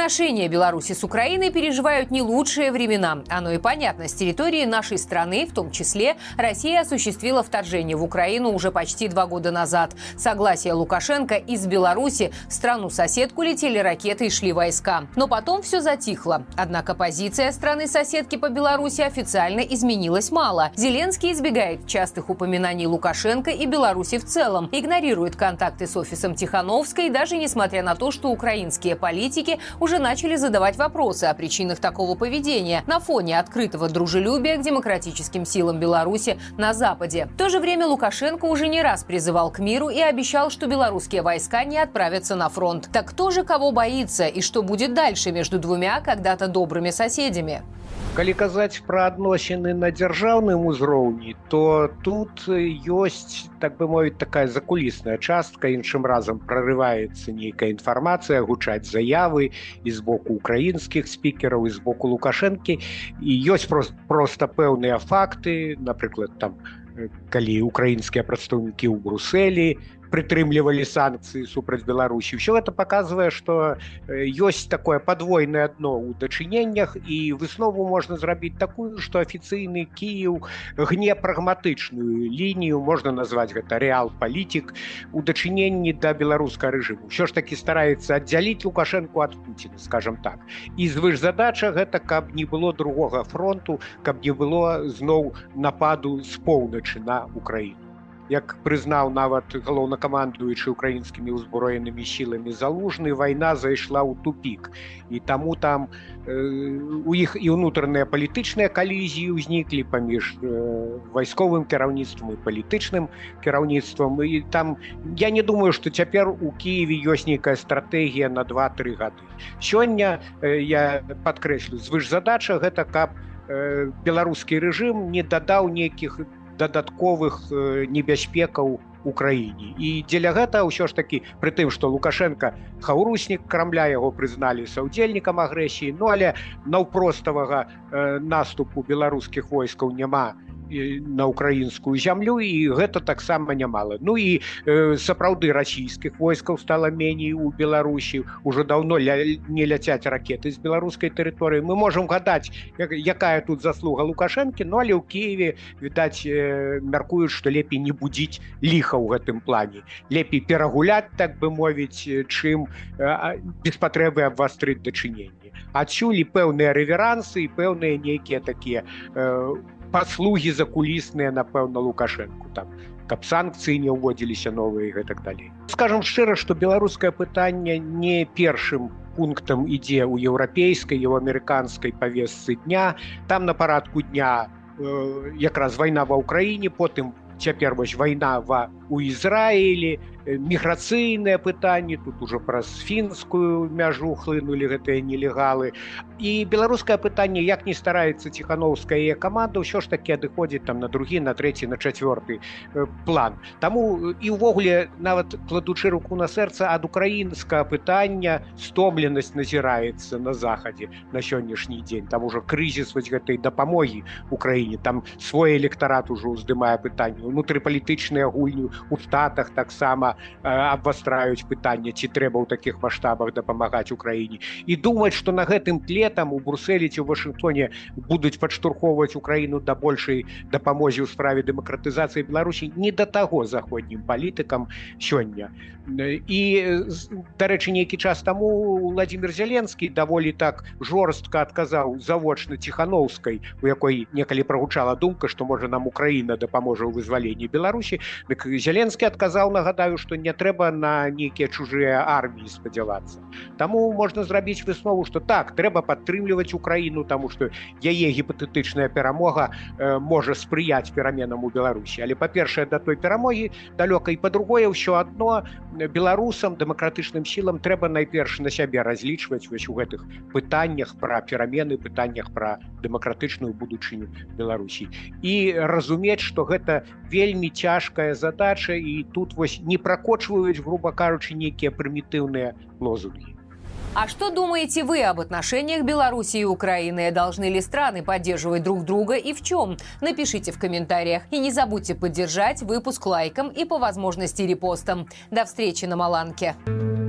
Отношения Беларуси с Украиной переживают не лучшие времена. Оно и понятно. С территории нашей страны, в том числе, Россия осуществила вторжение в Украину уже почти 2 года назад. Согласие Лукашенко из Беларуси в страну-соседку летели ракеты и шли войска. Но потом все затихло. Однако позиция страны-соседки по Беларуси официально изменилась мало. Зеленский избегает частых упоминаний Лукашенко и Беларуси в целом, игнорирует контакты с офисом Тихановской, даже несмотря на то, что украинские политики уже начали задавать вопросы о причинах такого поведения на фоне открытого дружелюбия к демократическим силам Беларуси на Западе. В то же время Лукашенко уже не раз призывал к миру и обещал, что белорусские войска не отправятся на фронт. Так кто же кого боится и что будет дальше между двумя когда-то добрыми соседями? Калі казаць пра адносіны на дзяржаўным узроўні, то тут ёсць, так бы мовіць, такая закулісная частка. Іншым разам прарываецца нейкая інфармацыя, гучаць заявы і з боку украінскіх спікераў, і з боку Лукашэнкі. І ёсць проста пэўныя факты, напрыклад, там, калі украінскія прадстаўнікі ў Брусэлі прытрымлівалі санкцыі супраць Беларусі. Все это показывае, што ёсць такое падвойнае дно ў дачыненнях, і выснову можна зрабіць такую, што афіцыйны Кіеў гне прагматычную лінію, можна назваць гэта рэал-палітик, у дачыненні да беларускага рэжыму. Усё ж такі стараецца аддзяліць Лукашэнку ад Пуціна, скажам так. І звышзадача гэта, каб не было другога фронту, каб не было зноў нападу з поўначы на Украіну. Як прызнаў нават галоўнакамандуючы украінскімі ўзброенымі сіламі Залужны, вайна зайшла ў тупік. І таму там у іх і ўнутраныя палітычныя калізіі ўзніклі паміж вайсковым кіраўніцтвам і палітычным кіраўніцтвам. І там я не думаю, што цяпер у Кіеве ёсць нейкая стратэгія на 2-3 гады. Сёння, я падкрэслю, звышзадача гэта каб беларускі рэжым не дадаў нейкіх дадатковых небяспекаў Украіне. І дзеля гэта ўсё ж такі, пры тым, што Лукашенко хаўруснік Крамля, яго прызналі саўдзельнікам агрэсіі, ну але наўпроставага наступу беларускіх войскаў няма на украінскую зямлю, і гэта таксама нямала. Ну і сапраўды расійскіх войскаў стала меней у Беларусі, уже даўно не ляцяць ракеты з беларускай тэрыторыі. Мы можам гадаць, якая тут заслуга Лукашэнкі, ну але ў Кіеве, відаць, мяркуюць, што лепей не будзіць ліха ў гэтым плане. Лепей перагуляць, так бы мовіць, чым без патрэбы абвастрыць дачыненні. Адсюль і пэўныя рэверансы, і пэўныя нейкія такія паслугі закулісныя, напэўна, Лукашэнку, там, каб санкцыі не ўводзіліся новыя і гэтак далей. Скажам шчыра, што беларускае пытанне не першым пунктам ідзе ў еўрапейскай і ў амерыканскай павестцы дня. Там на парадку дня якраз вайна ва ўкраіне, потым цяпер вось вайна у Ізраілі, міграцыйныя пытанні, тут ужо праз фінскую мяжу хлынулі гэтыя нелегалы. І беларускае пытанне, як не стараецца Ціхановская і каманда, ўсё ж такі адыходзіць там на другі, на трэці, на чацвёрты план. Таму і ўвогуле, нават кладучы руку на сэрца, ад украінскага пытання стомленасць назіраецца на захадзе на сённяшні дзень. Там ужо крызіс вось гэтай дапамогі Украіне, там свой электарат ужо ўздымае пытанне. Унутрыпалітычныя гульні у Штатах таксама абвастраюць пытанне, ці трэба ў такіх маштабах дапамагаць Украіне. І думаць, што на гэтым тле там у Брусэлі ці ў Вашынгтоне будуць падштурхоўваць Украіну да большай дапамогі ў справе дэмакратызацыі Беларусі, не да таго заходнім палітыкам сёння. І, дарэчы, нейкі час таму Владзімір Зеленскі даволі так жорстка адказаў завочна Ціхановскай, у якой некалі прагучала думка, што можа нам Украіна дапаможа ў вызваленні Беларусі. Дык Зеленскі адказаў, нагадаю, што не трэба на нейкія чужыя арміі спадзявацца. Таму можна зрабіць выснову, што так, трэба падтрымліваць Украіну, таму што яе гіпатэтычная перамога можа спрыяць пераменам у Беларусі. Але, па-першае, да той перамогі далёка, і па-другое, ўсё адно беларусам, дэмакратычным сілам трэба найперш на сябе разлічваць вось у гэтых пытаннях пра перамены, пытаннях пра дэмакратычную будучыню Беларусі. І разумець, што гэта вельмі цяжкая задача, і тут вось не прокочваюць, грубо кажучи, некие примитивные лозунги. А что думаете вы об отношениях Беларуси и Украины? Должны ли страны поддерживать друг друга и в чем? Напишите в комментариях. И не забудьте поддержать выпуск лайком и по возможности репостом. До встречи на Маланке.